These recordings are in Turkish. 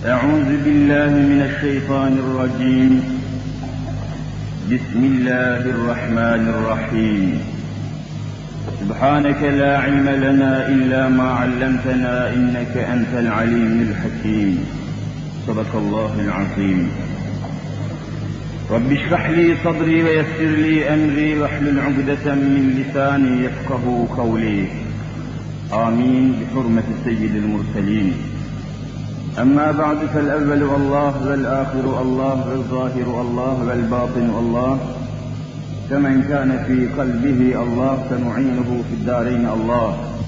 أعوذ بالله من الشيطان الرجيم. بسم الله الرحمن الرحيم. سبحانك لا علم لنا إلا ما علمتنا إنك أنت العليم الحكيم. صدق الله العظيم. رب اشرح لي صدري ويسر لي أمري واحلل عقدة من لساني يفقهوا قولي. آمين بحرمة سيد المرسلين. أما بعد فالأول الله والآخر الله والظاهر الله والباطن الله، فمن كان في قلبه الله فمعينه في الدارين الله،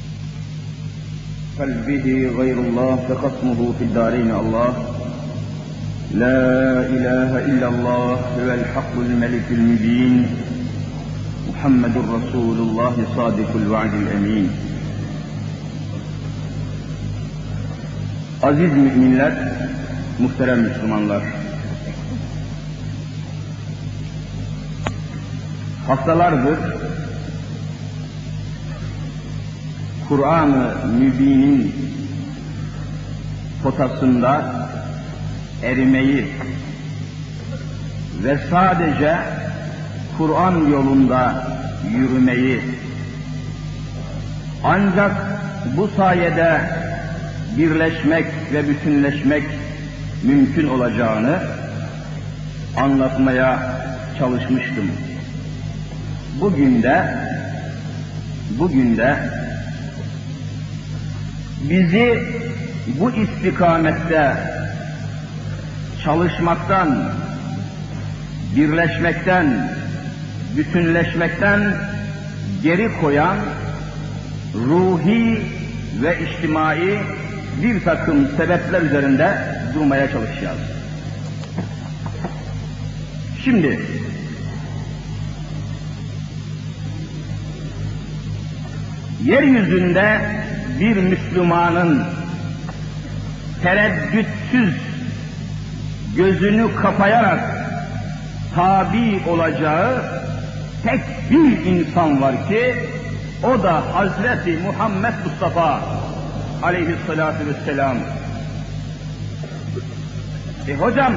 قلبه غير الله فخصمه في الدارين الله. لا إله إلا الله هو الحق الملك المبين، محمد رسول الله صادق الوعد الأمين. Aziz müminler, muhterem Müslümanlar, haftalardır Kur'an-ı Mübin'in potasında erimeyi ve sadece Kur'an yolunda yürümeyi, ancak bu sayede birleşmek ve bütünleşmek mümkün olacağını anlatmaya çalışmıştım. Bugün de bizi bu istikamette çalışmaktan, birleşmekten, bütünleşmekten geri koyan ruhi ve içtimai bir takım sebepler üzerinde durmaya çalışacağız. Şimdi yeryüzünde bir Müslümanın tereddütsüz gözünü kapayarak tabi olacağı tek bir insan var ki o da Hazreti Muhammed Mustafa aleyhissalatu vesselam. Hocam,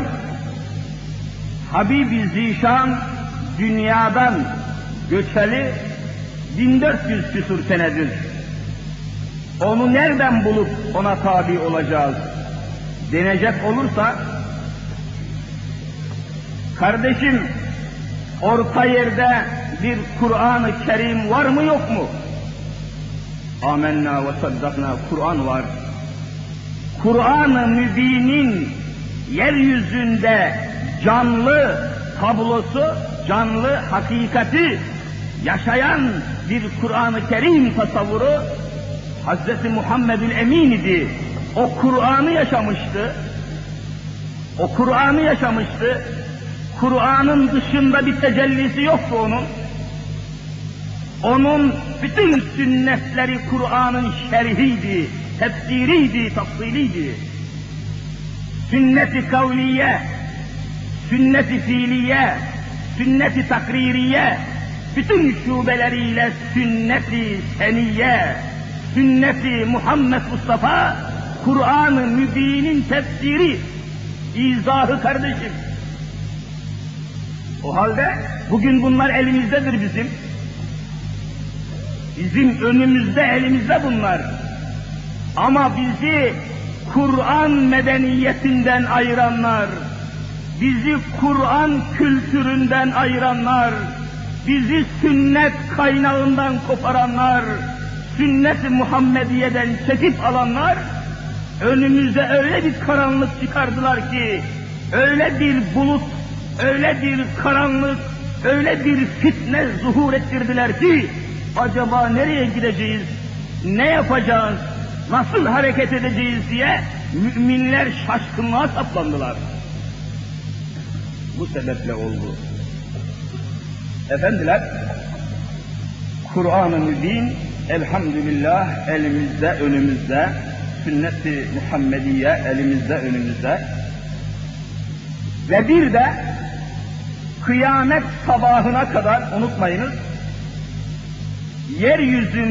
Habibi Zişan dünyadan göçeli 1400 küsur senedir. Onu nereden bulup ona tabi olacağız denecek olursa, kardeşim, orta yerde bir Kur'an-ı Kerim var mı yok mu? Amenna ve saddakna, Kur'an var. Kur'an-ı Mübin'in yeryüzünde canlı tablosu, canlı hakikati yaşayan bir Kur'an-ı Kerim tasavvuru Hazreti Muhammedül Emin idi. O Kur'an'ı yaşamıştı. O Kur'an'ı yaşamıştı. Kur'an'ın dışında bir tecellisi yoktu onun. Onun bütün sünnetleri Kur'an'ın şerhiydi, tefsiriydi, tafsiliydi. Sünnet-i kavliye, sünnet-i fiiliye, sünnet-i takririye, bütün şubeleriyle sünnet-i seniyye, sünnet-i Muhammed Mustafa, Kur'an-ı Mübin'in tefsiri, izahı kardeşim. O halde bugün bunlar elimizdedir bizim. Bizim önümüzde, elimizde bunlar. Ama bizi Kur'an medeniyetinden ayıranlar, bizi Kur'an kültüründen ayıranlar, bizi sünnet kaynağından koparanlar, sünnet-i Muhammediye'den çekip alanlar, önümüze öyle bir karanlık çıkardılar ki, öyle bir bulut, öyle bir karanlık, öyle bir fitne zuhur ettirdiler ki, acaba nereye gideceğiz, ne yapacağız, nasıl hareket edeceğiz diye müminler şaşkınlığa saplandılar. Bu sebeple oldu. Efendiler, Kur'an-ı Mübin elhamdülillah elimizde, önümüzde, sünnet-i Muhammediye elimizde, önümüzde ve bir de kıyamet sabahına kadar unutmayınız,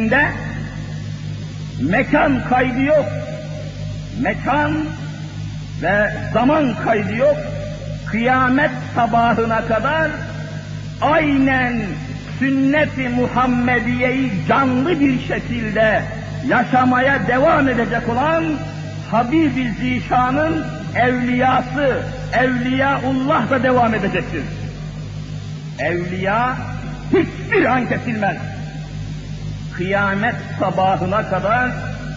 yeryüzünde mekan kaydı yok. Mekan ve zaman kaydı yok, kıyamet sabahına kadar aynen sünnet-i Muhammediye'yi canlı bir şekilde yaşamaya devam edecek olan Habib-i Zişan'ın evliyası, Evliyaullah da devam edecektir. Evliya hiçbir an kesilmez. Kıyamet sabahına kadar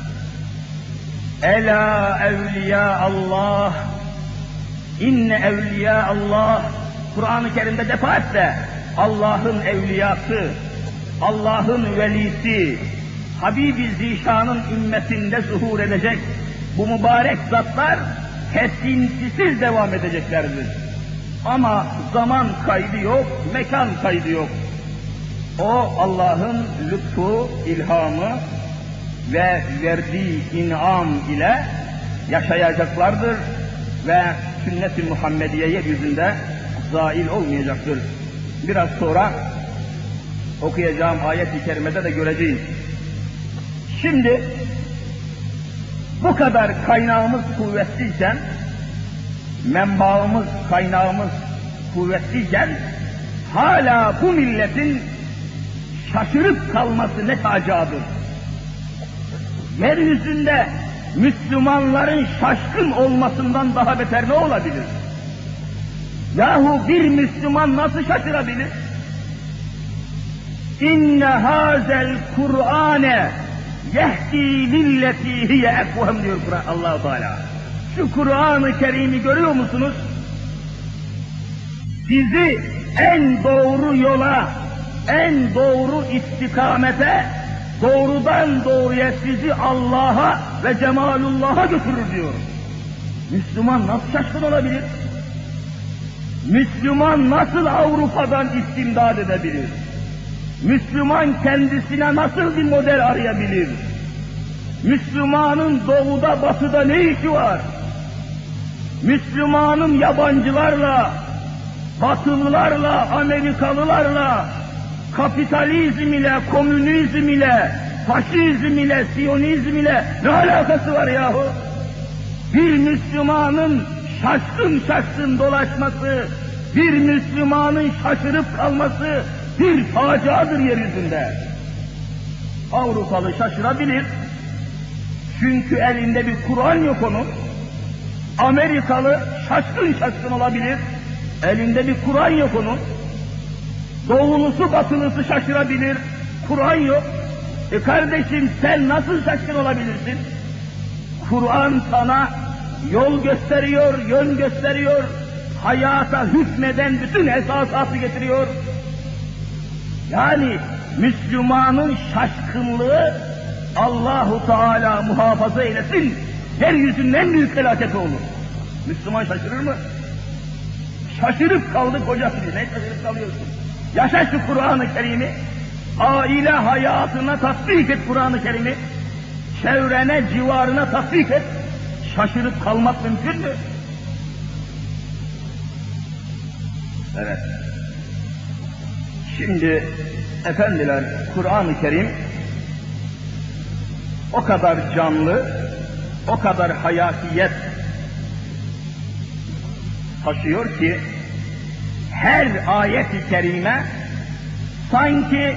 Ela evliya Allah, inne evliya Allah, Kur'an-ı Kerim'de defaatle Allah'ın evliyası, Allah'ın velisi, Habib-i Zişan'ın ümmetinde zuhur edecek bu mübarek zatlar kesintisiz devam edeceklerdir. Ama zaman kaydı yok, mekan kaydı yok. O Allah'ın lütfu, ilhamı ve verdiği inam ile yaşayacaklardır ve sünnet-i Muhammediye yeryüzünde zail olmayacaktır. Biraz sonra okuyacağım ayet-i kerimede de göreceğiz. Şimdi bu kadar kaynağımız kuvvetliyken, menbaımız, kaynağımız kuvvetliyken hala bu milletin şaşırıp kalması ne tacadır. Yeryüzünde Müslümanların şaşkın olmasından daha beter ne olabilir? Yahu bir Müslüman nasıl şaşırabilir? İnne hazel Kur'ane yehdi lilleti hiye ekvem diyor Allah-u Teala. Şu Kur'an-ı Kerim'i görüyor musunuz? Sizi en doğru yola, en doğru istikamete, doğrudan doğruya sizi Allah'a ve Cemalullah'a götürür diyor. Müslüman nasıl şaşkın olabilir? Müslüman nasıl Avrupa'dan istimdad edebilir? Müslüman kendisine nasıl bir model arayabilir? Müslümanın doğuda batıda ne işi var? Müslümanın yabancılarla, batılılarla, Amerikalılarla, kapitalizm ile, komünizm ile, faşizm ile, siyonizm ile ne alakası var yahu? Bir Müslümanın şaşkın şaşkın dolaşması, bir Müslümanın şaşırıp kalması bir faciadır yeryüzünde. Avrupalı şaşırabilir, çünkü elinde bir Kur'an yok onun. Amerikalı şaşkın şaşkın olabilir, elinde bir Kur'an yok onun. Doğulusu batılısı şaşırabilir, Kur'an yok. Kardeşim sen nasıl şaşkın olabilirsin? Kur'an sana yol gösteriyor, yön gösteriyor, hayata hükmeden bütün esasatı getiriyor. Yani Müslümanın şaşkınlığı Allahu Teala muhafaza eylesin, yeryüzünün en büyük felaketi olur. Müslüman şaşırır mı? Şaşırıp kaldık hocam diye. Ne şaşırıp kalıyorsun? Yaşa şu Kur'an-ı Kerim'i, aile hayatına tatbik et Kur'an-ı Kerim'i, çevrene, civarına tatbik et, şaşırıp kalmak mümkün mü? Evet. Şimdi efendiler, Kur'an-ı Kerim o kadar canlı, o kadar hayatiyet taşıyor ki her ayet-i kerime sanki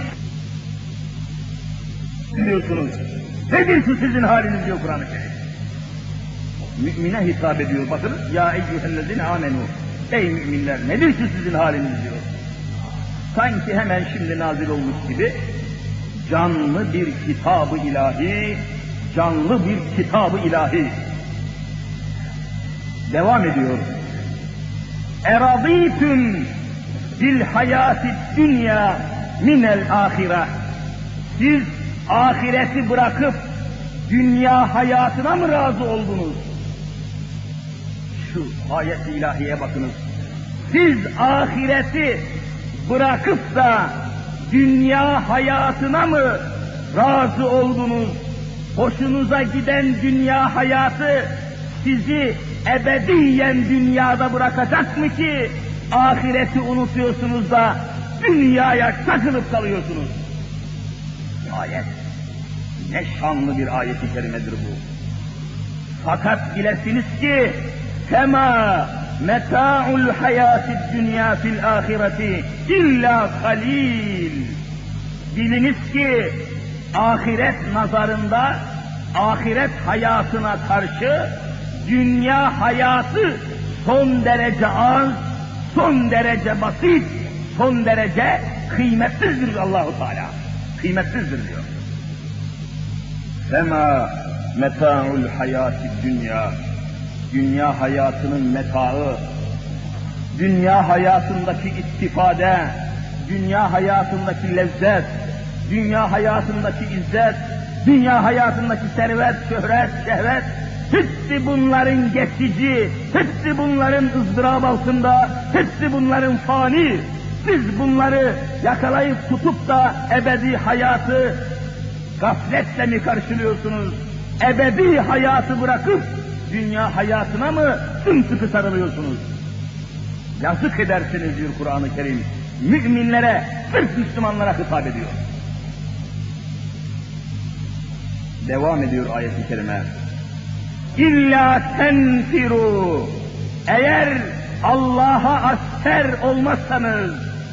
diyorsunuz, nedir şu sizin haliniz diyor Kur'an-ı Kerim. Mümine hitap ediyor, bakınız. Ya eyyühellezine amenu, ey müminler nedir şu sizin haliniz diyor. Sanki hemen şimdi nazil olmuş gibi canlı bir kitab-ı ilahi, canlı bir kitab-ı ilahi. Devam ediyor. Eradîtüm bil hayâti dünya minel âhire. Siz ahireti bırakıp dünya hayatına mı razı oldunuz? Şu ayet-i ilahiye bakınız. Siz ahireti bırakıp da dünya hayatına mı razı oldunuz? Hoşunuza giden dünya hayatı sizi ebediyen dünyada bırakacak mı ki ahireti unutuyorsunuz da dünyaya takılıp kalıyorsunuz? Ayet, ne şanlı bir ayet-i kerimedir bu. Fakat bilesiniz ki Fema meta'ul hayatid dünya fil ahireti illa kalil. Biliniz ki ahiret nazarında, ahiret hayatına karşı dünya hayatı son derece az, son derece basit, son derece kıymetsizdir Allah-u Teala. Kıymetsizdir diyor. Fema meta'ul hayatid dünya. Dünya hayatının metaı, dünya hayatındaki istifade, dünya hayatındaki lezzet, dünya hayatındaki izzet, dünya hayatındaki servet, şöhret, şehvet, hepsi bunların geçici, hepsi bunların ızdırap altında, hepsi bunların fani. Siz bunları yakalayıp tutup da ebedi hayatı gafletle mi karşılıyorsunuz? Ebedi hayatı bırakıp dünya hayatına mı sımsıkı sarılıyorsunuz? Yazık edersiniz diyor Kur'an-ı Kerim. Müminlere, sırf Müslümanlara hitap ediyor. Devam ediyor ayet-i kerime. İlla tenfiru. Eğer Allah'a asker olmazsanız,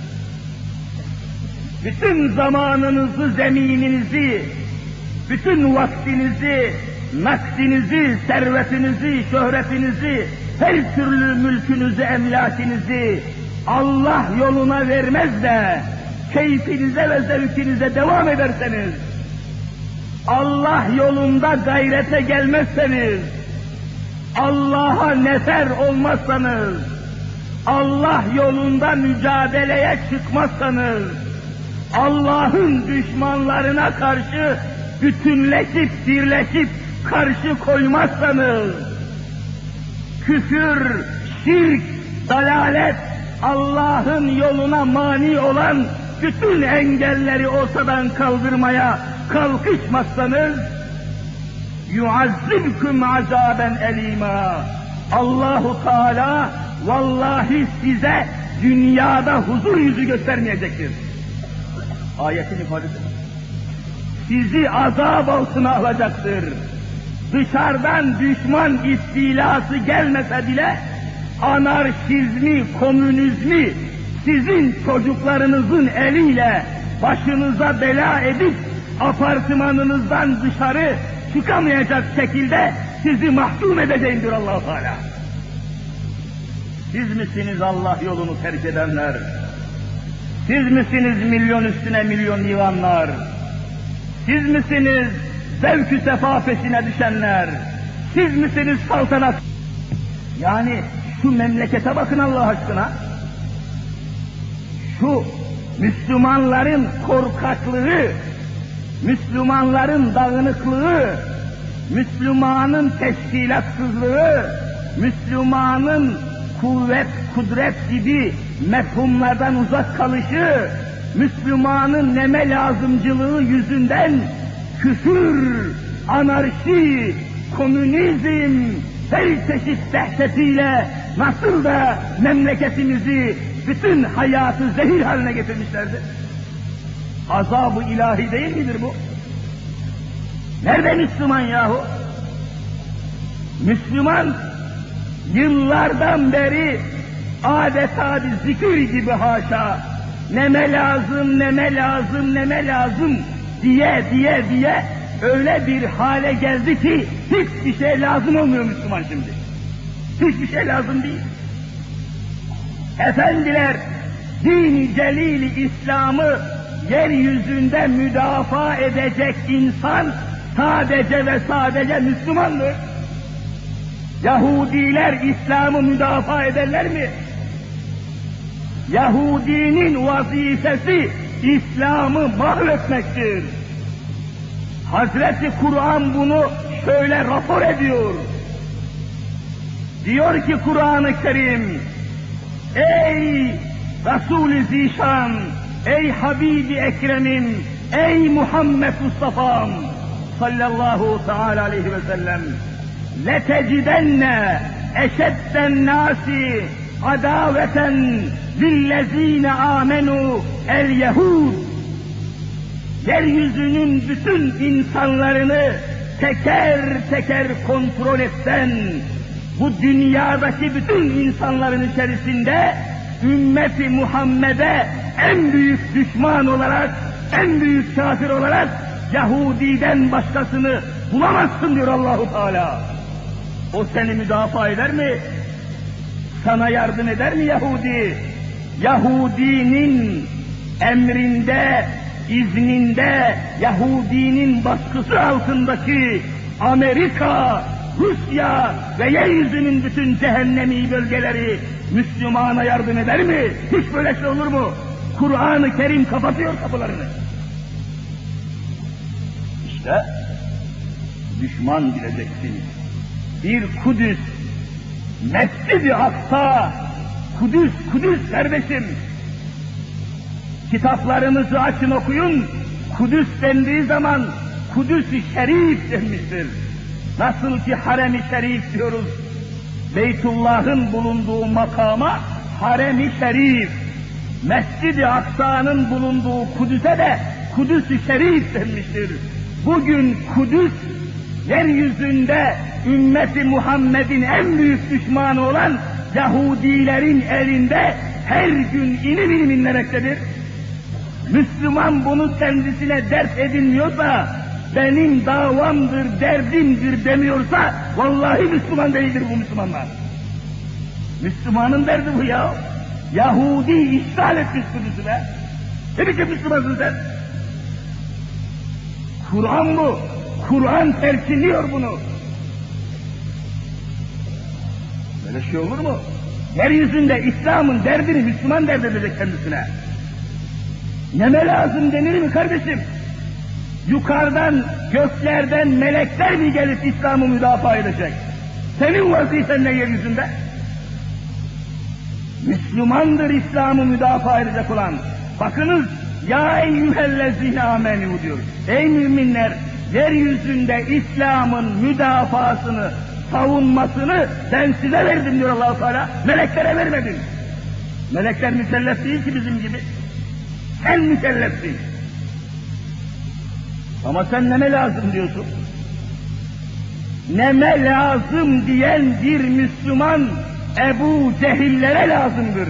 bütün zamanınızı, zemininizi, bütün vaktinizi, nakdinizi, servetinizi, şöhretinizi, her türlü mülkünüzü, emlakinizi Allah yoluna vermez de keyfinize ve zevkinize devam ederseniz, Allah yolunda gayrete gelmezseniz, Allah'a nefer olmazsanız, Allah yolunda mücadeleye çıkmazsanız, Allah'ın düşmanlarına karşı bütünleşip, birleşip karşı koymazsanız, küfür, şirk, dalalet, Allah'ın yoluna mani olan bütün engelleri ortadan kaldırmaya kalkışmazsanız, yuazzibkum azaben elima. Allahu Teala vallahi size dünyada huzur yüzü göstermeyecektir. Ayetin ifadesi. Sizi azap altına alacaktır. Dışarıdan düşman istilası gelmese bile anarşizmi, komünizmi sizin çocuklarınızın eliyle başınıza bela edip apartmanınızdan dışarı çıkamayacak şekilde sizi mahkum edeceğim diyor Allah-u Teala. Siz misiniz Allah yolunu terk edenler? Siz misiniz milyon üstüne milyon yığanlar? Siz misiniz zevk-ü sefa peşine düşenler? Siz misiniz saltanat? Yani şu memlekete bakın Allah aşkına. Şu Müslümanların korkaklığı, Müslümanların dağınıklığı, Müslümanın teşkilatsızlığı, Müslümanın kuvvet, kudret gibi mefhumlardan uzak kalışı, Müslümanın neme lazımcılığı yüzünden küfür, anarşi, komünizm, her çeşit dehşetiyle nasıl da memleketimizi, bütün hayatı zehir haline getirmişlerdi. Azab-ı ilahi değil midir bu? Nerede Müslüman yahu? Müslüman yıllardan beri adeta bir zikir gibi haşa, neme lazım, neme lazım, neme lazım diye öyle bir hale geldi ki hiçbir şey lazım olmuyor Müslüman şimdi. Hiçbir şey lazım değil. Efendiler, din-i celil-i İslam'ı yeryüzünde müdafaa edecek insan sadece ve sadece Müslümandır. Yahudiler İslam'ı müdafaa ederler mi? Yahudinin vazifesi İslam'ı mahvetmektir. Hazreti Kur'an bunu şöyle rapor ediyor. Diyor ki Kur'an-ı Kerim, ey Resul-i Zişan, ey Habibi Ekrem'im, ey Muhammed Mustafa'm sallallahu teala aleyhi ve sellem, لَتَجِدَنَّ اَشَدَّ النَّاسِ عَدَاوَةً لِلَّذ۪ينَ آمَنُوا الْيَهُودِ. Yeryüzünün bütün insanlarını teker teker kontrol etsen, bu dünyadaki bütün insanların içerisinde ümmeti Muhammed'e en büyük düşman olarak, en büyük kafir olarak Yahudiden başkasını bulamazsın diyor Allah-u Teala. O seni müdafaa eder mi? Sana yardım eder mi Yahudi? Yahudinin emrinde, izninde, Yahudinin baskısı altındaki Amerika, Rusya ve yeryüzünün bütün cehennemi bölgeleri Müslümana yardım eder mi? Hiç böyle şey olur mu? Kur'an-ı Kerim kapatıyor kapılarını. İşte düşman bileceksin. Bir Kudüs, Mescid-i Aksa, Kudüs kardeşim. Kitaplarınızı açın okuyun, Kudüs dendiği zaman Kudüs-i Şerif denmiştir. Nasıl ki Harem-i Şerif diyoruz, Beytullah'ın bulunduğu makama Harem-i Şerif, Mescid-i Aksa'nın bulunduğu Kudüs'e de Kudüs-i Şerif denmiştir. Bugün Kudüs, yeryüzünde ümmeti Muhammed'in en büyük düşmanı olan Yahudilerin elinde her gün inim inlemektedir. Müslüman bunu kendisine dert edinmiyorsa, benim davamdır, derdimdir demiyorsa, vallahi Müslüman değildir bu Müslümanlar. Müslümanın derdi bu ya. Yahudi işgal etmiş Kudüs'ü be. Ne biçim Müslümansın sen? Kur'an bu. Kur'an terkinliyor bunu. Böyle şey olur mu? Yeryüzünde İslam'ın derdini Müslüman dert edecek kendisine. Neme lazım denir mi kardeşim? Yukarıdan, göklerden melekler mi gelip İslam'ı müdafaa edecek? Senin vazifen ne yeryüzünde? Müslümandır İslam'ı müdafaa edecek olan. Bakınız, ya eyyühellezine amenü diyor. Ey müminler, yeryüzünde İslam'ın müdafasını, savunmasını ben size verdim diyor Allah-u Teala. Meleklere vermedim. Melekler mükellef değil ki bizim gibi. Sen mükellefsin. Ama sen neme lazım diyorsun? Neme lazım diyen bir Müslüman Ebu Cehillere lazımdır.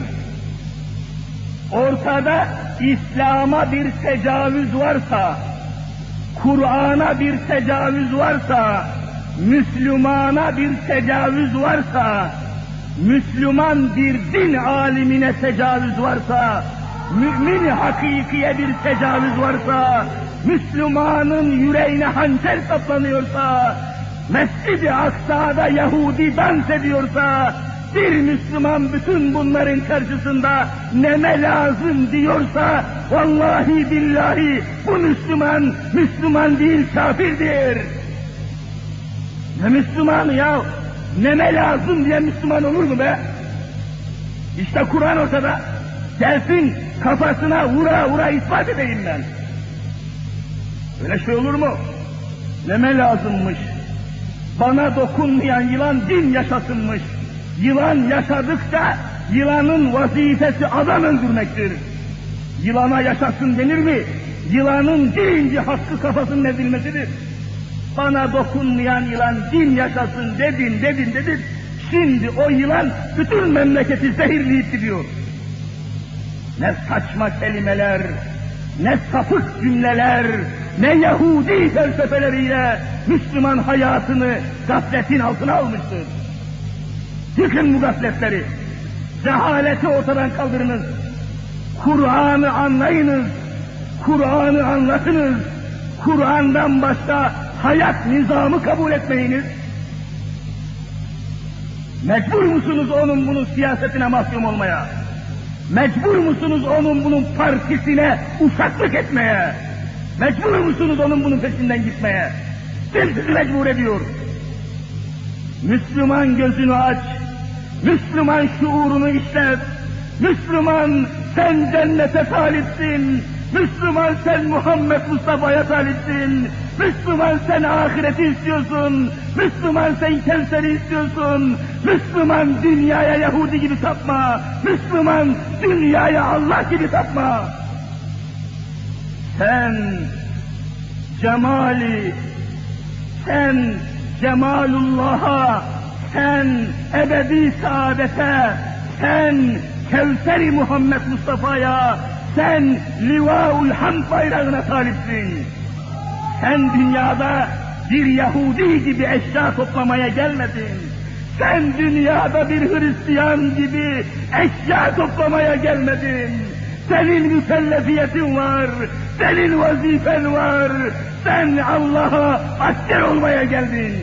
Ortada İslam'a bir tecavüz varsa, Kur'an'a bir tecavüz varsa, Müslümana bir tecavüz varsa, Müslüman bir din alimine tecavüz varsa, mümin hakikiye bir tecavüz varsa, Müslümanın yüreğine hançer saplanıyorsa, Mescid-i Aksa'da Yahudi dans ediyorsa, bir Müslüman bütün bunların karşısında neme lazım diyorsa, vallahi billahi bu Müslüman, Müslüman değil kafirdir. Ne Müslümanı ya? Neme lazım diye Müslüman olur mu be? İşte Kur'an ortada. Gelsin kafasına vura vura ispat edeyim ben. Öyle şey olur mu? Neme lazımmış? Bana dokunmayan yılan din yaşasınmış. Yılan yaşadıkça yılanın vazifesi adam öldürmektir. Yılana yaşasın denir mi? Yılanın birinci hakkı kafasının ezilmesidir. Bana dokunmayan yılan din yaşasın dedin. Şimdi o yılan bütün memleketi zehirleyip gidiyor. Ne saçma kelimeler, ne sapık cümleler, ne Yahudi felsefeleriyle Müslüman hayatını gafletin altına almıştır. Yıkın bu gafletleri, cehaleti ortadan kaldırınız, Kur'an'ı anlayınız, Kur'an'ı anlatınız, Kur'an'dan başka hayat nizamı kabul etmeyiniz. Mecbur musunuz onun bunun siyasetine mahkum olmaya? Mecbur musunuz onun bunun partisine uşaklık etmeye? Mecbur musunuz onun bunun peşinden gitmeye? Kim sizi mecbur ediyor? Müslüman gözünü aç, Müslüman şuurunu işlet, Müslüman sen cennete talipsin, Müslüman sen Muhammed Mustafa'ya talipsin, Müslüman sen ahireti istiyorsun, Müslüman sen Kevser'i istiyorsun, Müslüman dünyaya Yahudi gibi tapma, Müslüman dünyaya Allah gibi tapma. Sen cemali, sen cemalullah'a sen ebedi saadete, sen Kevser-i Muhammed Mustafa'ya, sen Livaul Hamd bayrağına talipsin. Sen dünyada bir Yahudi gibi eşya toplamaya gelmedin. Sen dünyada bir Hristiyan gibi eşya toplamaya gelmedin. Senin mükellefiyetin var, senin vazifen var. Sen Allah'a asker olmaya geldin.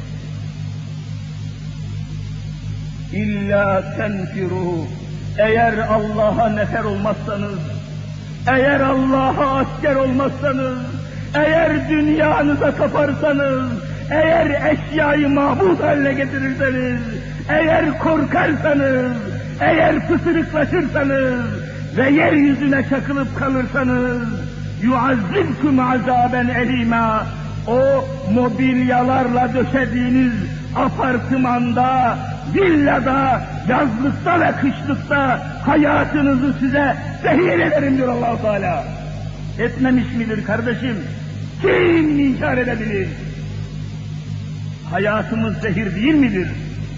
İlla tenfiru, eğer Allah'a nefer olmazsanız, eğer Allah'a asker olmazsanız, eğer dünyanıza kaparsanız, eğer eşyayı mabut haline getirirseniz, eğer korkarsanız, eğer pısırıklaşırsanız ve yeryüzüne çakılıp kalırsanız, yuazzibkum azaben elima, o mobilyalarla döşediğiniz apartmanda, villada, yazlıkta ve kışlıkta hayatınızı size zehir ederim diyor Allah-u Teala. Etmemiş midir kardeşim? Kim inkar edebilir? Hayatımız zehir değil midir?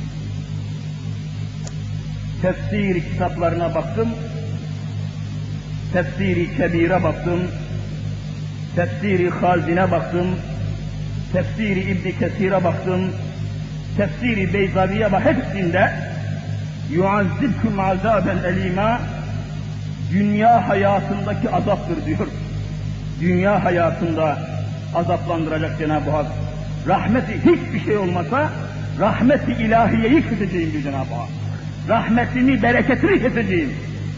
Tefsir kitaplarına baktım, Tefsir-i Kebir'e baktım, Tefsir-i Hazine baktım, Tefsir-i İbn Kesir'e baktım, Tefsir-i Beyzavi'ye bak, hepsinde yuazzibkum azaben elima, dünya hayatındaki azaptır diyor. Dünya hayatında azaplandıracak Cenab-ı Hak. Rahmeti hiçbir şey olmasa, rahmeti ilahiyeyi keseceğim diyor Cenab-ı Hak. Rahmetini, bereketini keseceğim.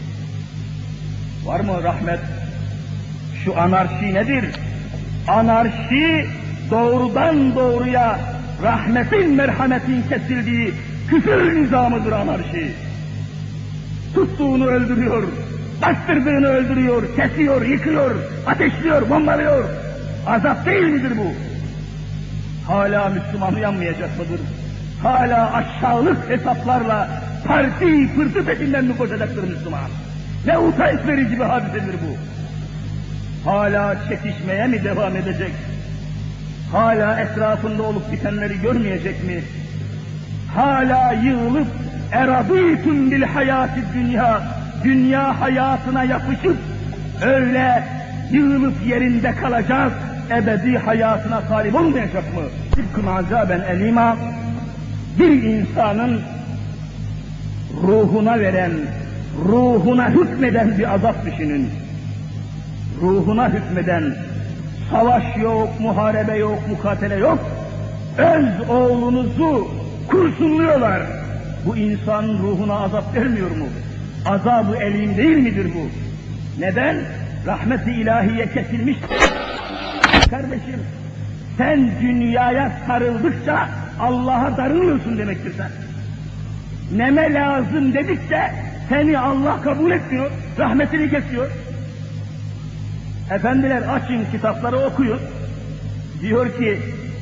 Var mı rahmet? Şu anarşi nedir? Anarşi doğrudan doğruya rahmetin, merhametin kesildiği küfür nizamıdır anarşi. Tuttuğunu öldürüyor, bastırdığını öldürüyor, kesiyor, yıkıyor, ateşliyor, bombalıyor. Azap değil midir bu? Hala Müslüman uyanmayacak mıdır? Hala aşağılık hesaplarla parti pırtı peşinden mi koşacaktır Müslüman? Ne utanç verici bir hadisedir bu? Hala çekişmeye mi devam edecek? Hala etrafında olup bitenleri görmeyecek mi? Hala yığılıp eradîtüm bil hayâti dünya, dünya hayatına yapışıp öyle yığılıp yerinde kalacak, ebedi hayatına talip olmayacak mı? Tıpkı azaben elima, bir insanın ruhuna veren, ruhuna hükmeden bir azap düşünün. Ruhuna hükmeden, savaş yok, muharebe yok, mukatele yok. Öz oğlunuzu kurşunluyorlar. Bu insan ruhuna azap vermiyor mu? Azab-ı elim değil midir bu? Neden? Rahmet-i ilahiye kesilmiş. Kardeşim, sen dünyaya sarıldıkça Allah'a darılıyorsun demektir sen. Neme lazım dedikçe seni Allah kabul etmiyor, rahmetini kesiyor. Efendiler açın kitapları okuyun. Diyor ki,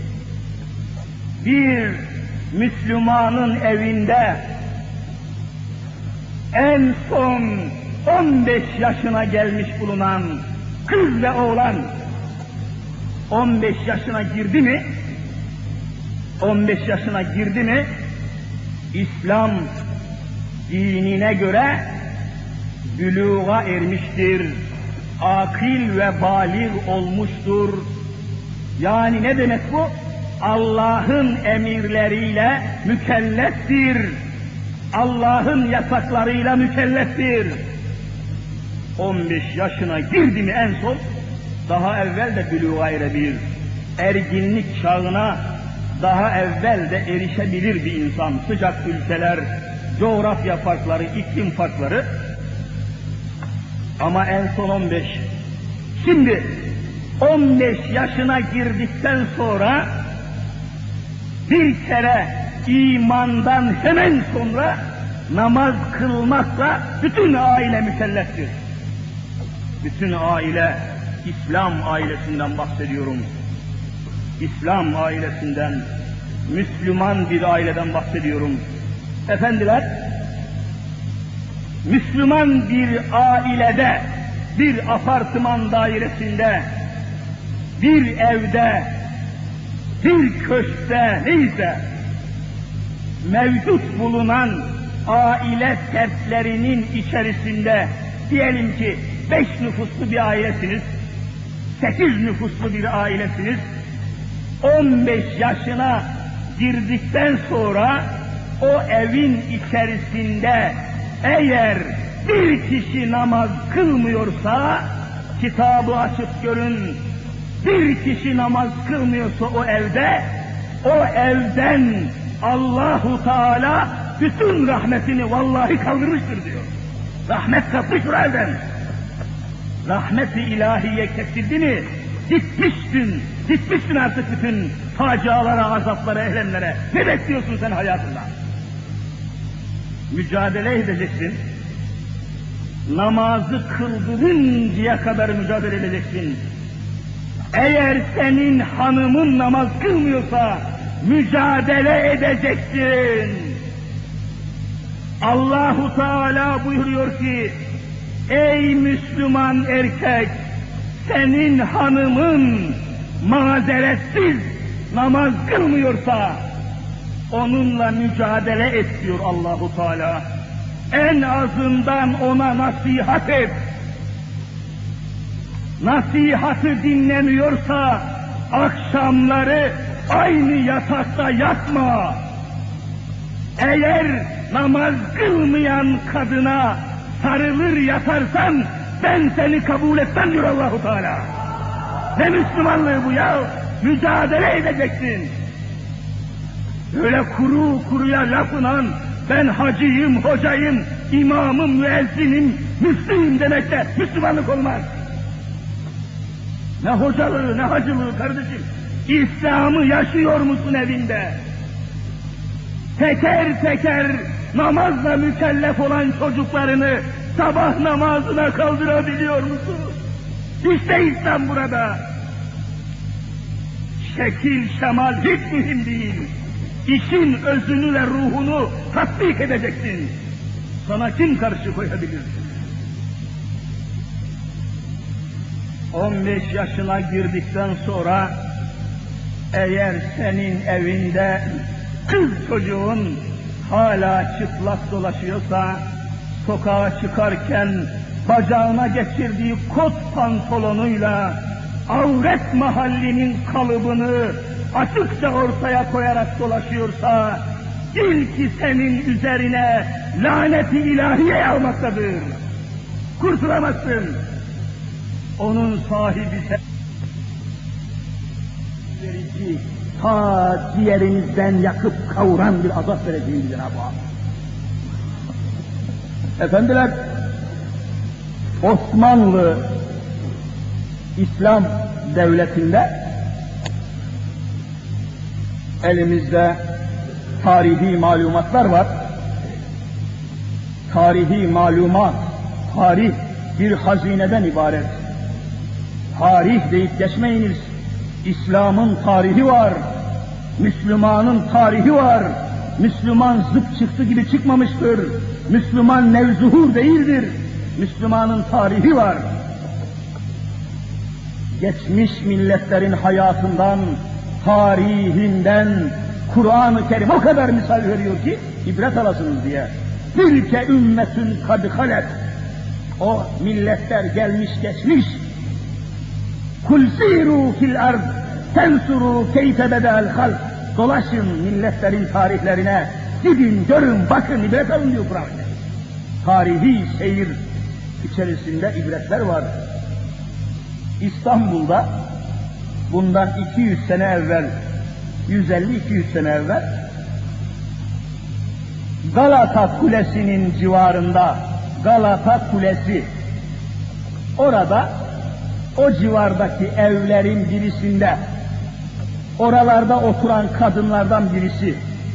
bir Müslümanın evinde en son 15 yaşına gelmiş bulunan kız ve oğlan 15 yaşına girdi mi, 15 yaşına girdi mi, İslam dinine göre büluğa ermiştir, akil ve bâlig olmuştur. Yani ne demek bu? Allah'ın emirleriyle mükelleftir. Allah'ın yasaklarıyla mükelleftir. 15 yaşına girdi mi en son, daha evvel de büluğa erebilir. Erginlik çağına daha evvel de erişebilir bir insan. Sıcak ülkeler, coğrafya farkları, iklim farkları. Ama en son 15. Şimdi 15 yaşına girdikten sonra bir kere imandan hemen sonra namaz kılmakla bütün aile mükelleftir. Bütün aile, İslam ailesinden bahsediyorum. İslam ailesinden, Müslüman bir aileden bahsediyorum. Efendiler, Müslüman bir ailede, bir apartman dairesinde, bir evde, bir köşkte neyse, mevcut bulunan aile fertlerinin içerisinde diyelim ki 5 nüfuslu bir ailesiniz, 8 nüfuslu bir ailesiniz, 15 yaşına girdikten sonra o evin içerisinde eğer bir kişi namaz kılmıyorsa, kitabı açıp görün, bir kişi namaz kılmıyorsa o evden Allahu Teala bütün rahmetini vallahi kaldırmıştır diyor. Rahmet kalkmış o evden. Rahmet-i ilahiye kesildi mi, gitmişsin artık bütün facialara, azaplara, ehlemlere. Ne bekliyorsun sen hayatında? Mücadele edeceksin. Namazı kıldırıncaya kadar mücadele edeceksin. Eğer senin hanımın namaz kılmıyorsa mücadele edeceksin. Allahu Teala buyuruyor ki, ey Müslüman erkek, senin hanımın mazeretsiz namaz kılmıyorsa onunla mücadele et diyor Allahu Teala. En azından ona nasihat et. Nasihatı dinlemiyorsa akşamları aynı yatakta yatma. Eğer namaz kılmayan kadına sarılır yatarsan ben seni kabul etmem diyor Allahu Teala. Ne Müslümanlığı bu ya? Mücadele edeceksin. Öyle kuruya lafınan ben hacıyım, hocayım, imamım, müezzinim, müftüyüm demekle Müslümanlık olmaz. Ne hocalığı, ne hacılığı kardeşim. İslam'ı yaşıyor musun evinde? Teker teker namazla mükellef olan çocuklarını sabah namazına kaldırabiliyor musun? İşte İslam burada. Şekil, şemal hiç mühim değil. İşin özünü ve ruhunu tatbik edeceksin. Sana kim karşı koyabilir? 15 yaşına girdikten sonra eğer senin evinde kız çocuğun hala çıplak dolaşıyorsa, sokağa çıkarken bacağına geçirdiği kot pantolonuyla avret mahallinin kalıbını açıkça ortaya koyarak dolaşıyorsa, bil ki senin üzerine laneti ilahiye almaktadır. Kurtulamazsın. Onun sahibi verici, ta ciğerinizden yakıp kavuran bir azap vereceğim Cenab-ı Hak. Efendiler, Osmanlı İslam devletinde elimizde tarihi malumatlar var. Tarihi malumat, tarih bir hazineden ibaret. Tarih deyip geçmeyiniz. İslam'ın tarihi var. Müslümanın tarihi var. Müslüman zıp çıktı gibi çıkmamıştır. Müslüman nevzuhur değildir. Müslümanın tarihi var. Geçmiş milletlerin hayatından, tarihinden Kur'an-ı Kerim o kadar misal veriyor ki ibret alasınız diye. Tilke ümmetün kad halet. O milletler gelmiş geçmiş. Kul siru fil ard tensuru keyfe bedel halk. Dolaşın milletlerin tarihlerine. Gidin, görün, bakın, ibret alın diyor Kur'an. Tarihi seyir içerisinde ibretler var. İstanbul'da bundan 200 sene evvel, 150-200 sene evvel Galata Kulesi'nin civarında, Galata Kulesi, orada o civardaki evlerin birisinde oralarda oturan kadınlardan birisi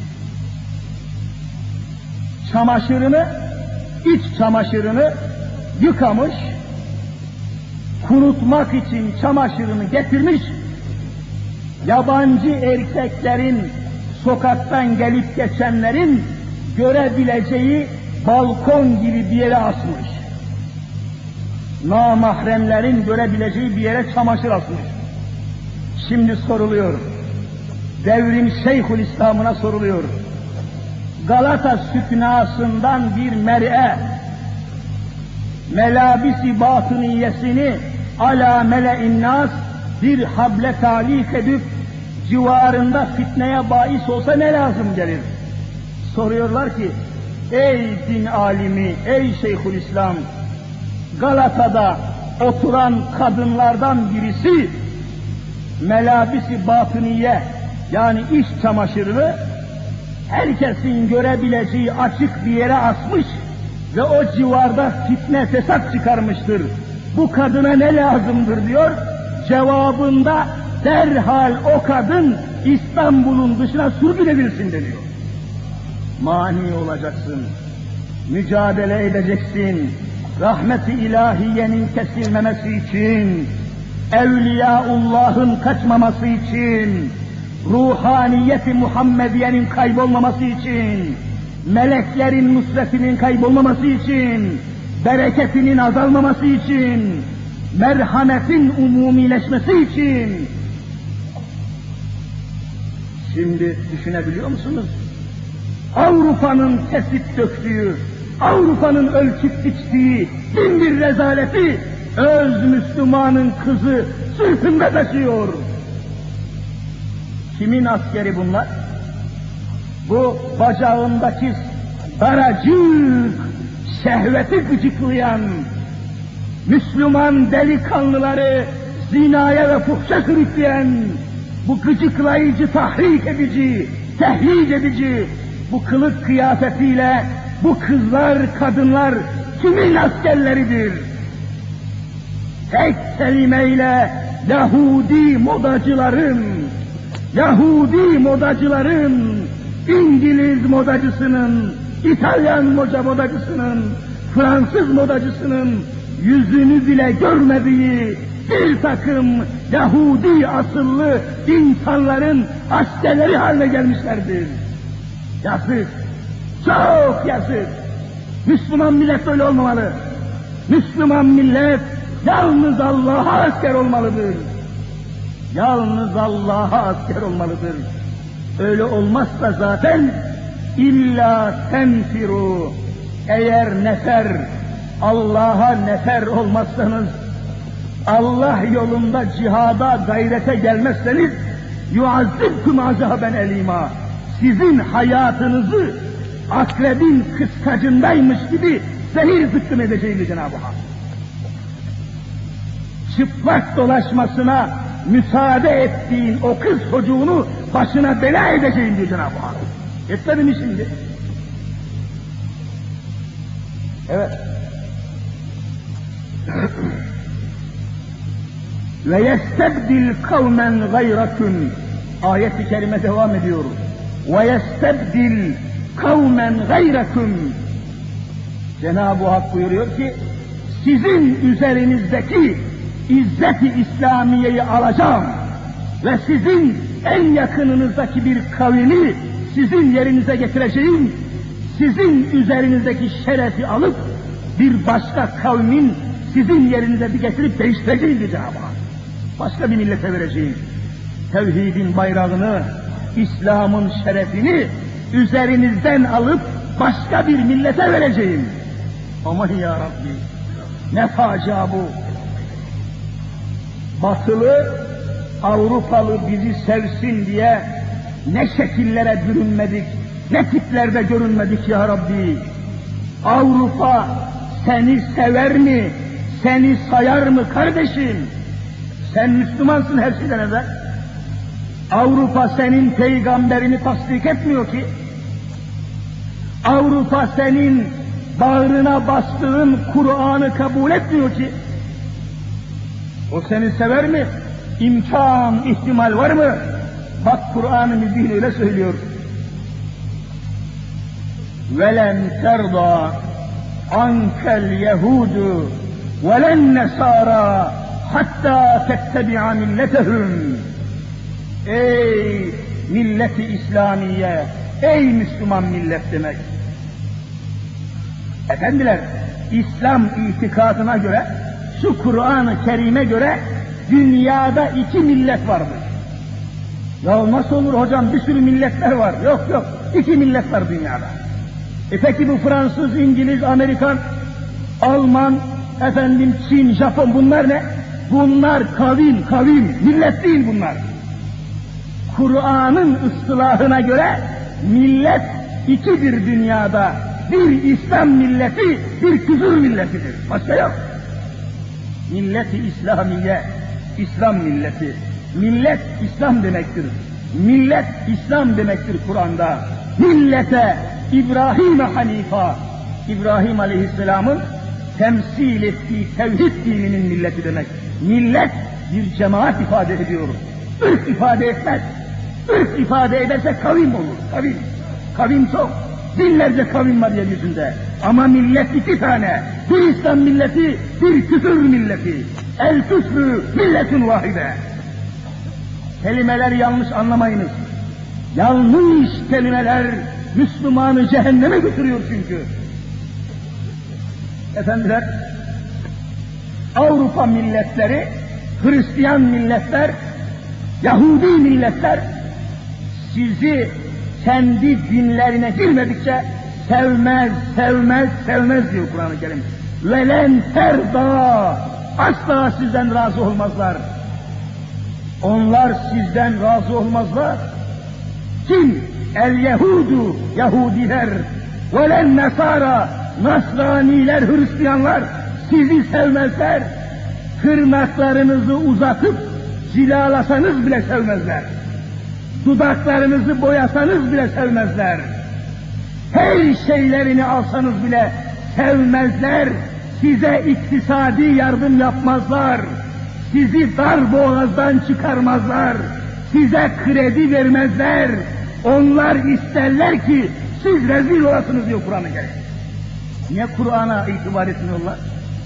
çamaşırını, iç çamaşırını yıkamış, kurutmak için çamaşırını getirmiş, yabancı erkeklerin, sokaktan gelip geçenlerin görebileceği balkon gibi bir yere asmış. Namahremlerin görebileceği bir yere çamaşır asmış. Şimdi soruluyor, devrin Şeyhülislam'ına soruluyor. Galata süknasından bir mer'e, melabisi batıniyesini ala mele'in nas bir hable talik edip civarında fitneye bahis olsa ne lazım gelir? Soruyorlar ki, ey din alimi, ey Şeyhülislam, Galata'da oturan kadınlardan birisi melabisi batıniye, yani iç çamaşırını herkesin görebileceği açık bir yere asmış ve o civarda fitne fesat çıkarmıştır. Bu kadına ne lazımdır diyor. Cevabında derhal o kadın İstanbul'un dışına sürgülebilsin deniyor. Mani olacaksın, mücadele edeceksin, rahmet-i ilahiyenin kesilmemesi için, Evliyaullah'ın kaçmaması için, ruhaniyeti Muhammediye'nin kaybolmaması için, meleklerin nusretinin kaybolmaması için, bereketinin azalmaması için, merhametin umumileşmesi için. Şimdi düşünebiliyor musunuz? Avrupa'nın kesip döktüğü, Avrupa'nın ölçüp biçtiği bin bir rezaleti öz Müslümanın kızı sırtında taşıyor. Kimin askeri bunlar? Bu bacağındaki daracık, şehveti gıcıklayan Müslüman delikanlıları zinaya ve fuhşa sürükleyen, bu gıcıklayıcı, tahrik edici, tehlik edici, bu kılık kıyafetiyle bu kızlar, kadınlar kimin askerleridir? Tek kelimeyle Yahudi modacıların, İngiliz modacısının, İtalyan modacısının, Fransız modacısının yüzünü bile görmediği bir takım Yahudi asıllı insanların askerleri haline gelmişlerdir. Yazık, çok yazık. Müslüman millet öyle olmamalı. Müslüman millet yalnız Allah'a asker olmalıdır. Yalnız Allah'a asker olmalıdır. Öyle olmazsa zaten illa tenfiru, eğer Allah'a nefer olmazsanız, Allah yolunda cihada gayrete gelmezseniz yuazzibkum azaben elima, sizin hayatınızı akrebin kıskacındaymış gibi zehir zıkkım edeceğini Cenab-ı Hak. Çıplak dolaşmasına müsaade ettiğin o kız çocuğunu başına bela edeceğim diyor Cenab-ı Hak. Etmedi mi şimdi? Evet. Ve yestebdil kavmen gayrakun, ayet-i kerime devam ediyor. Ve yestebdil kavmen gayrakun, Cenab-ı Hak buyuruyor ki sizin üzerinizdeki İzzet-i İslamiye'yi alacağım ve sizin en yakınınızdaki bir kavmi sizin yerinize getireceğim, sizin üzerinizdeki şerefi alıp bir başka kavmin sizin yerinize bir getirip değiştireceğim diye Cenab-ı Hak. Başka bir millete vereceğim. Tevhidin bayrağını, İslam'ın şerefini üzerinizden alıp başka bir millete vereceğim. Aman ya Rabbi, ne facia bu! Batılı, Avrupalı bizi sevsin diye ne şekillere bürünmedik, ne tiplerde görünmedik ya Rabbi. Avrupa seni sever mi, seni sayar mı kardeşim? Sen Müslümansın her şeyden evvel. Avrupa senin peygamberini tasdik etmiyor ki. Avrupa senin bağrına bastığın Kur'an'ı kabul etmiyor ki. O seni sever mi? İmkan, ihtimal var mı? Bak Kur'an-ı Mübin öyle söylüyor. وَلَنْ تَرْضَى عَنْكَ الْيَهُودُ وَلَنْ نَسَارَى hatta tettebi'a milletehum. Ey milleti İslamiye, ey Müslüman millet demek. Efendiler, İslam itikadına göre, şu Kur'an-ı Kerim'e göre dünyada iki millet vardır. Ya nasıl olur hocam, bir sürü milletler var. Yok, iki millet var dünyada. Peki bu Fransız, İngiliz, Amerikan, Alman, Çin, Japon bunlar ne? Bunlar kavim, millet değil bunlar. Kur'an'ın ıstılahına göre millet ikidir dünyada. Bir İslam milleti, bir küfür milletidir. Başka yok. Millet-i İslamiye, İslam milleti. Millet İslam demektir. Millet İslam demektir Kur'an'da. Millete İbrahim Hanifa, İbrahim Aleyhisselam'ın temsil ettiği tevhid dininin milleti demek. Millet bir cemaat ifade ediyor. Irk ifade etmez. Irk ifade ederse kavim olur. Kavim çok. Binlerce kavim var yeryüzünde. Ama millet iki tane. Bir İslam milleti, bir küfür milleti. El küfrü milletun vahide. Kelimeleri yanlış anlamayınız. Yanlış kelimeler Müslümanı cehenneme götürüyor çünkü. Efendiler, Avrupa milletleri, Hristiyan milletler, Yahudi milletler sizi kendi dinlerine girmedikçe sevmez diyor Kur'an-ı Kerim. Velen terda, asla sizden razı olmazlar. Onlar sizden razı olmazlar. Kim? El Yehudu, Yahudiler, velen Nasara, Nasraniler, Hristiyanlar sizi sevmezler. Tırnaklarınızı uzatıp cilalasanız bile sevmezler. Dudaklarınızı boyasanız bile sevmezler. Her şeylerini alsanız bile sevmezler. Size iktisadi yardım yapmazlar. Sizi dar boğazdan çıkarmazlar. Size kredi vermezler. Onlar isterler ki siz rezil olasınız diyor Kur'an-ı Kerim. Niye Kur'an'a itibar etmiyorlar?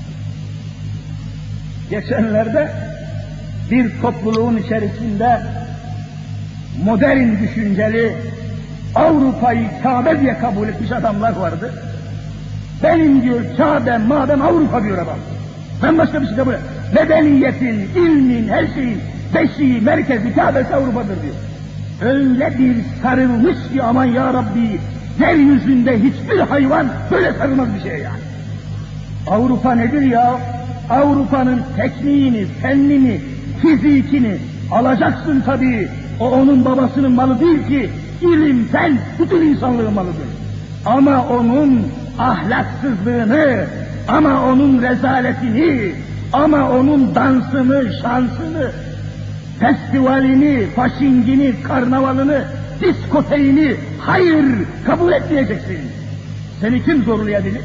Geçenlerde bir topluluğun içerisinde modern düşünceli, Avrupa'yı Kabe diye kabul etmiş adamlar vardı. Benim diyor Kabe, madem Avrupa diyor adam. Ben başka bir şey kabul etmem. Medeniyetin, ilmin, her şeyin beşiği, merkezi, Kabe'si Avrupa'dır diyor. Öyle bir sarılmış ki aman ya Rabbi, yeryüzünde hiçbir hayvan böyle sarılmaz bir şey yani. Avrupa nedir ya? Avrupa'nın tekniğini, fennini, fizikini alacaksın tabii. O onun babasının malı değil ki, ilim, fen, bütün insanlığın malıdır. Ama onun ahlaksızlığını, ama onun rezaletini, ama onun dansını, şansını, festivalini, faşingini, karnavalını, diskoteğini, hayır kabul etmeyeceksin. Seni kim zorlayabilir?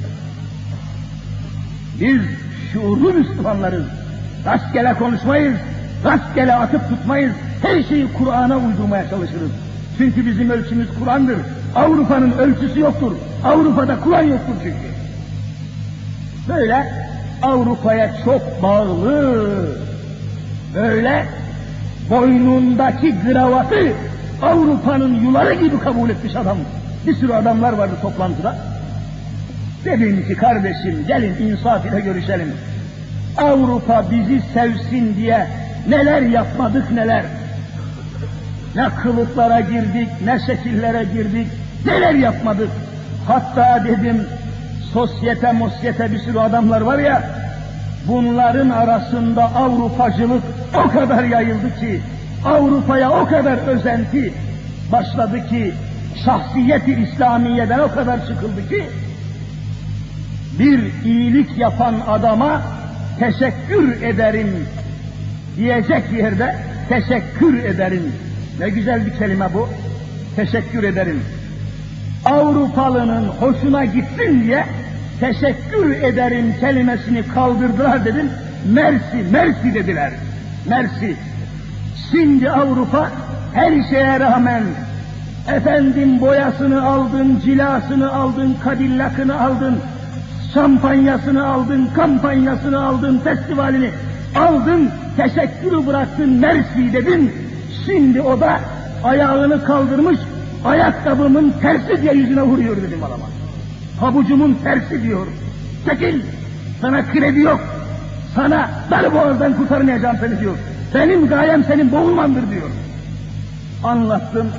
Biz şuurlu Müslümanlarız. Rastgele konuşmayız, rastgele atıp tutmayız. Her şeyi Kur'an'a uydurmaya çalışırız. Çünkü bizim ölçümüz Kur'an'dır. Avrupa'nın ölçüsü yoktur. Avrupa'da Kur'an yoktur çünkü. Böyle Avrupa'ya çok bağlı, böyle boynundaki kravatı Avrupa'nın yuları gibi kabul etmiş adam. Bir sürü adamlar vardı toplantıda. Dedim ki kardeşim gelin insaf ile görüşelim. Avrupa bizi sevsin diye neler yapmadık neler. Ne kılıklara girdik, ne şekillere girdik, neler yapmadık. Hatta dedim sosyete bir sürü adamlar var ya, bunların arasında Avrupacılık o kadar yayıldı ki, Avrupa'ya o kadar özenti başladı ki, şahsiyet-i İslamiye'den o kadar çıkıldı ki, bir iyilik yapan adama teşekkür ederim diyecek yerde teşekkür ederim. Ne güzel bir kelime bu. Teşekkür ederim. Avrupalının hoşuna gitsin diye teşekkür ederim kelimesini kaldırdılar dedim. Mersi dediler. Mersi. Şimdi Avrupa her şeye rağmen boyasını aldın, cilasını aldın, kadillakını aldın, şampanyasını aldın, kampanyasını aldın, festivalini aldın, teşekkürü bıraktın, mersi dedin. Şimdi o da ayağını kaldırmış, ayakkabımın tersi diye yüzüne vuruyor dedim adama. Pabucumun tersi diyor. Çekil, sana kredi yok, sana darboğazdan kurtarmayacağım seni diyor. Benim gayem senin boğulmandır diyor. Anlattım,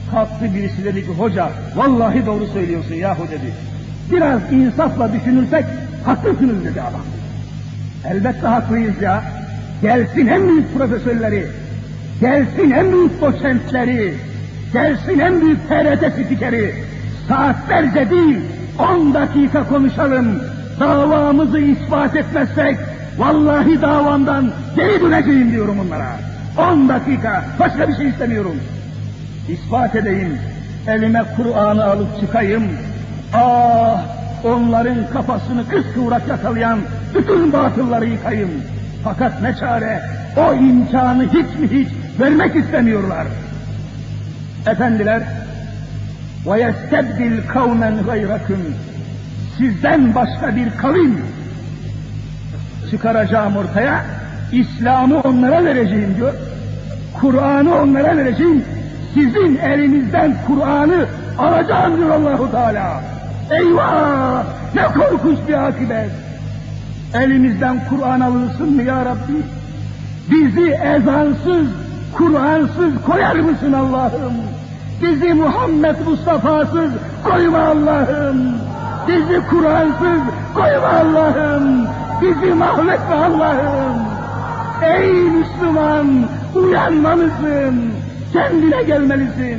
Kalktı birisi dedi ki, hoca vallahi doğru söylüyorsun yahu dedi. Biraz insafla düşünürsek haklısınız dedi adam. Elbette haklıyız ya. Gelsin en büyük profesörleri, gelsin en büyük doçentleri, gelsin en büyük TRT spikeri, saatlerce değil 10 dakika konuşalım. Davamızı ispat etmezsek vallahi davamdan geri döneceğim diyorum onlara. 10 dakika, başka bir şey istemiyorum. İspat edeyim, elime Kur'an'ı alıp çıkayım. Ah, onların kafasını kıskıvrak yakalayan bütün batılları yıkayım. Fakat ne çare, o imkanı hiç mi hiç vermek istemiyorlar. Efendiler, وَيَسْتَبْدِلْ قَوْمًا غَيْرَكُمْ, sizden başka bir kavim çıkaracağım ortaya, İslam'ı onlara vereceğim diyor, Kur'an'ı onlara vereceğim, sizin elinizden Kur'an'ı alacağım diyor Allah-u Teala. Eyvah! Ne korkunç bir akıbet! Elimizden Kur'an alınsın mı ya Rabbi? Bizi ezansız, Kur'ansız koyar mısın Allah'ım? Bizi Muhammed Mustafa'sız koyma Allah'ım! Bizi Kur'ansız koyma Allah'ım! Bizi mahvetme Allah'ım! Ey Müslüman! Uyanmalısın! Kendine gelmelisin!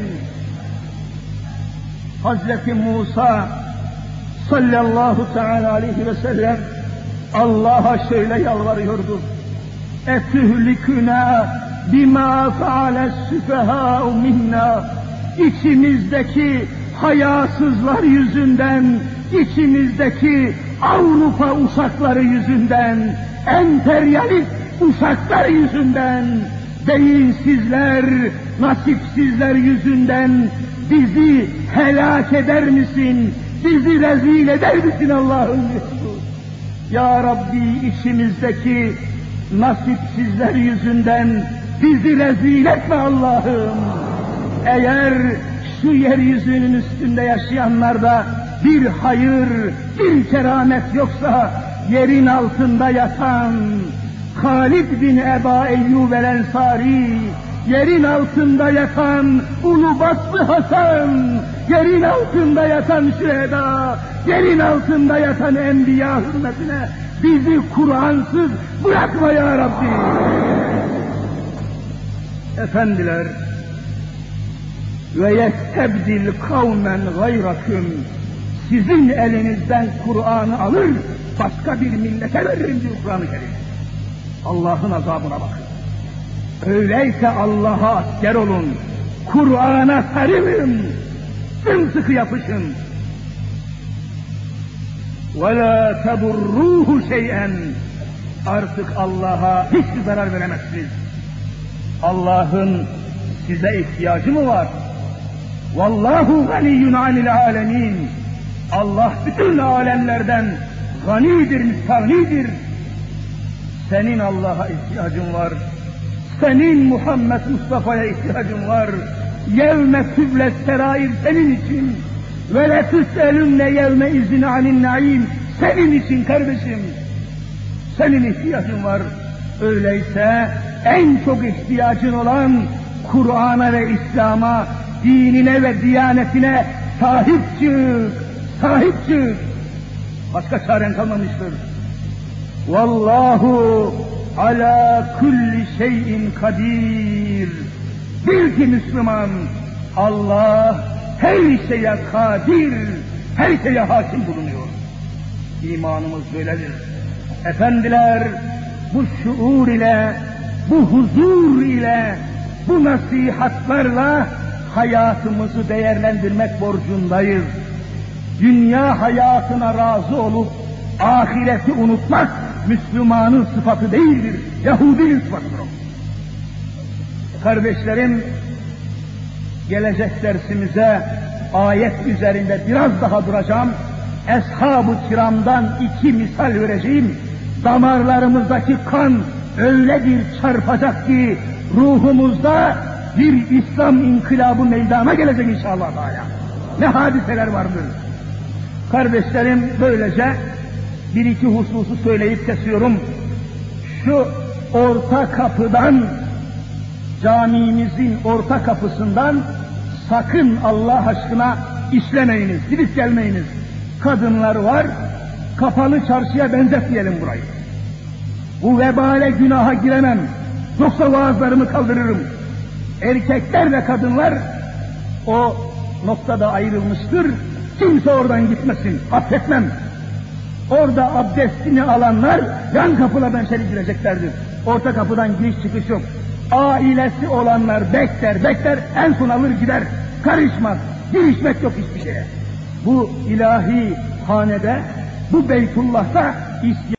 Hazreti Musa sallallahu teala aleyhi ve sellem Allah'a şöyle yalvarıyordu. Etühliküna bima faales süfehâ'u minna, içimizdeki hayasızlar yüzünden, içimizdeki Avrupa uşakları yüzünden, emperyalist uşaklar yüzünden, beyinsizler, nasipsizler yüzünden bizi helak eder misin? Bizi rezil eder misin Allah'ım? Ya Rabbi, içimizdeki nasipsizler yüzünden bizi rezil etme Allah'ım. Eğer şu yeryüzünün üstünde yaşayanlarda bir hayır, bir keramet yoksa, yerin altında yatan Halid bin Eba Eyyub el-Ensari, yerin altında yatan Ulubatlı Hasan, yerin altında yatan şüheda, yerin altında yatan enbiya hürmetine bizi Kur'ansız bırakma ya Rabbi. Efendiler, ve yestebdil kavmen gayrakum, sizin elinizden Kur'an'ı alır, başka bir millete veririm diyor Kur'an-ı Kerim. Allah'ın azabına bakın. Öyleyse Allah'a asker olun, Kur'an'a sarılın, sımsıkı yapışın. وَلَا تَضُرُّوهُ شَيْئًا, artık Allah'a hiçbir zarar veremezsiniz. Allah'ın size ihtiyacı mı var? وَاللّٰهُ غَنِيٌّ عَنِ الْعَالَمِينَ, Allah bütün alemlerden ganidir, müstağnidir. Senin Allah'a ihtiyacın var. Senin Muhammed Mustafa'ya ihtiyacın var. Yevme tüble serair senin için. Ve letüselünne yevme izin anin naim senin için kardeşim. Senin ihtiyacın var. Öyleyse en çok ihtiyacın olan Kur'an'a ve İslam'a, dinine ve diyanetine sahip çık. Sahip çık. Başka çaren kalmamıştır. Vallahu ala kulli şeyin kadir. Bil ki Müslüman, Allah her şeye kadir, her şeye hakim bulunuyor. İmanımız böyledir. Efendiler, bu şuur ile, bu huzur ile, bu nasihatlarla hayatımızı değerlendirmek borcundayız. Dünya hayatına razı olup ahireti unutmak Müslümanın sıfatı değildir, Yahudinin sıfatıdır. Kardeşlerim, gelecek dersimize ayet üzerinde biraz daha duracağım. Eshab-ı kiramdan 2 misal vereceğim. Damarlarımızdaki kan öyle bir çarpacak ki ruhumuzda bir İslam inkılabı meydana gelecek inşallah. Ne hadiseler vardır. Kardeşlerim, böylece 1-2 hususu söyleyip kesiyorum. Şu orta kapıdan, camimizin orta kapısından sakın Allah aşkına işlemeyiniz, gidip gelmeyiniz. Kadınlar var, kapalı çarşıya benzetmeyelim burayı. Bu vebale günaha giremem, yoksa vaazlarımı kaldırırım. Erkekler ve kadınlar o noktada ayrılmıştır, kimse oradan gitmesin, affetmem. Orada abdestini alanlar yan kapılardan içeri gireceklerdir. Orta kapıdan giriş çıkış yok. Ailesi olanlar bekler, en son alır gider. Karışmaz, girişmek yok hiçbir şeye. Bu ilahi hanede, bu Beytullah'ta